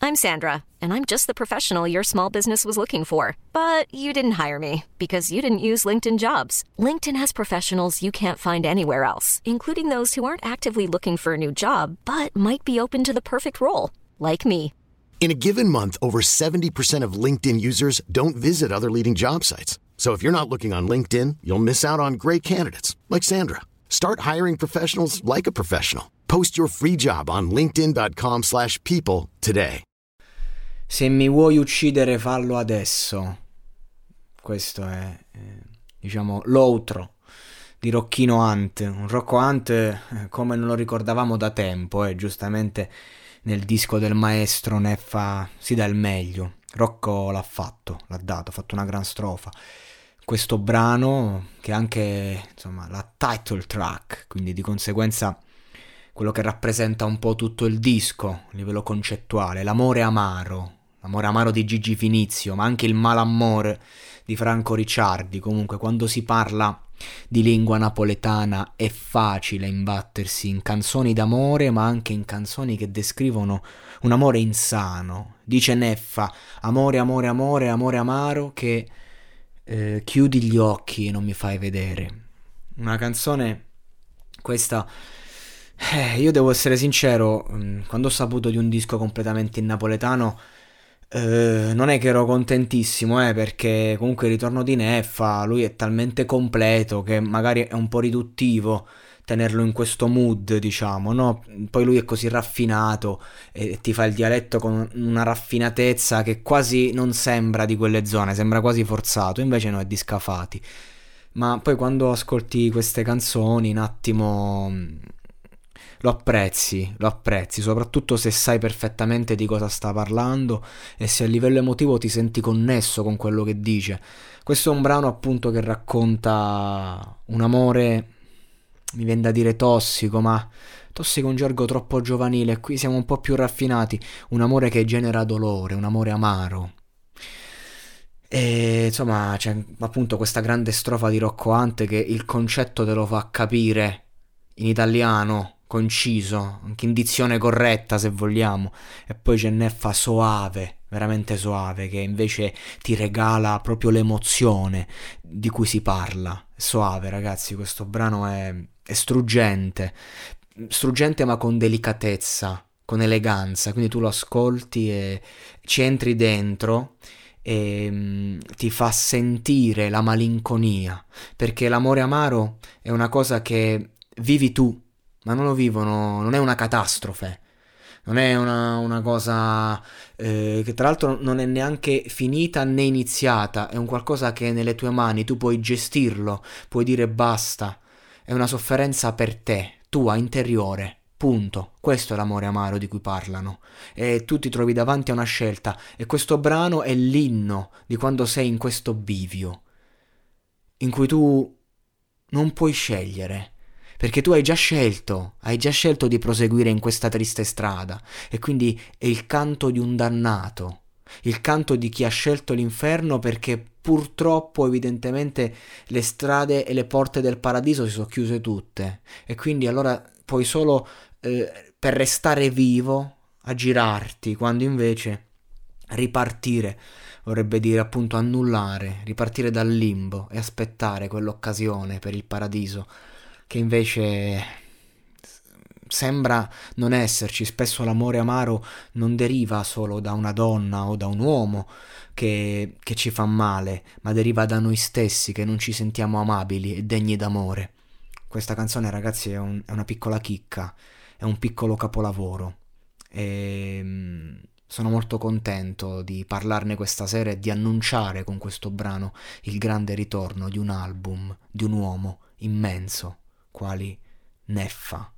I'm Sandra, and I'm just the professional your small business was looking for. But you didn't hire me because you didn't use LinkedIn Jobs. LinkedIn has professionals you can't find anywhere else, including those who aren't actively looking for a new job, but might be open to the perfect role, like me. In a given month, over 70% of LinkedIn users don't visit other leading job sites. So if you're not looking on LinkedIn, you'll miss out on great candidates like Sandra. Start hiring professionals like a professional. Post your free job on linkedin.com/people today. Se mi vuoi uccidere, fallo adesso. Questo è, diciamo, l'outro di Rocchino Hunt. Un Rocco Hunt come non lo ricordavamo da tempo, giustamente nel disco del maestro Neffa si dà il meglio. Rocco l'ha fatto, l'ha dato, ha fatto una gran strofa. Questo brano che è anche, insomma, la title track, quindi di conseguenza quello che rappresenta un po' tutto il disco a livello concettuale, l'amore amaro di Gigi Finizio, ma anche il malamore di Franco Ricciardi. Comunque quando si parla di lingua napoletana è facile imbattersi in canzoni d'amore, ma anche in canzoni che descrivono un amore insano. Dice Neffa: amore, amore, amore, amore amaro che chiudi gli occhi e non mi fai vedere. Una canzone questa, io devo essere sincero, quando ho saputo di un disco completamente in napoletano non è che ero contentissimo, perché comunque il ritorno di Neffa, lui è talmente completo che magari è un po' riduttivo tenerlo in questo mood, diciamo, no? Poi lui è così raffinato e ti fa il dialetto con una raffinatezza che quasi non sembra di quelle zone, sembra quasi forzato, invece no, è di Scafati. Ma poi quando ascolti queste canzoni un attimo lo apprezzi, soprattutto se sai perfettamente di cosa sta parlando e se a livello emotivo ti senti connesso con quello che dice. Questo è un brano appunto che racconta un amore, mi viene da dire tossico, ma tossico è un gergo troppo giovanile, qui siamo un po' più raffinati, un amore che genera dolore, un amore amaro. E insomma c'è appunto questa grande strofa di Rocco Hunt che il concetto te lo fa capire in italiano, conciso, anche in dizione corretta se vogliamo, e poi c'è Neffa soave, veramente soave, che invece ti regala proprio l'emozione di cui si parla. Soave, ragazzi, questo brano è struggente ma con delicatezza, con eleganza, quindi tu lo ascolti e ci entri dentro e ti fa sentire la malinconia, perché l'amore amaro è una cosa che vivi tu, ma non lo vivono, non è una catastrofe, non è una cosa che tra l'altro non è neanche finita né iniziata, è un qualcosa che è nelle tue mani, tu puoi gestirlo, puoi dire basta, è una sofferenza per te, tua, interiore, punto. Questo è l'amore amaro di cui parlano, e tu ti trovi davanti a una scelta, e questo brano è l'inno di quando sei in questo bivio in cui tu non puoi scegliere, perché tu hai già scelto di proseguire in questa triste strada, e quindi è il canto di un dannato, il canto di chi ha scelto l'inferno perché purtroppo evidentemente le strade e le porte del paradiso si sono chiuse tutte, e quindi allora puoi solo per restare vivo aggirarti, quando invece ripartire vorrebbe dire appunto annullare, ripartire dal limbo e aspettare quell'occasione per il paradiso che invece sembra non esserci. Spesso l'amore amaro non deriva solo da una donna o da un uomo che ci fa male, ma deriva da noi stessi che non ci sentiamo amabili e degni d'amore. Questa canzone, ragazzi, è una piccola chicca, è un piccolo capolavoro, e sono molto contento di parlarne questa sera e di annunciare con questo brano il grande ritorno di un album, di un uomo immenso quali Neffa.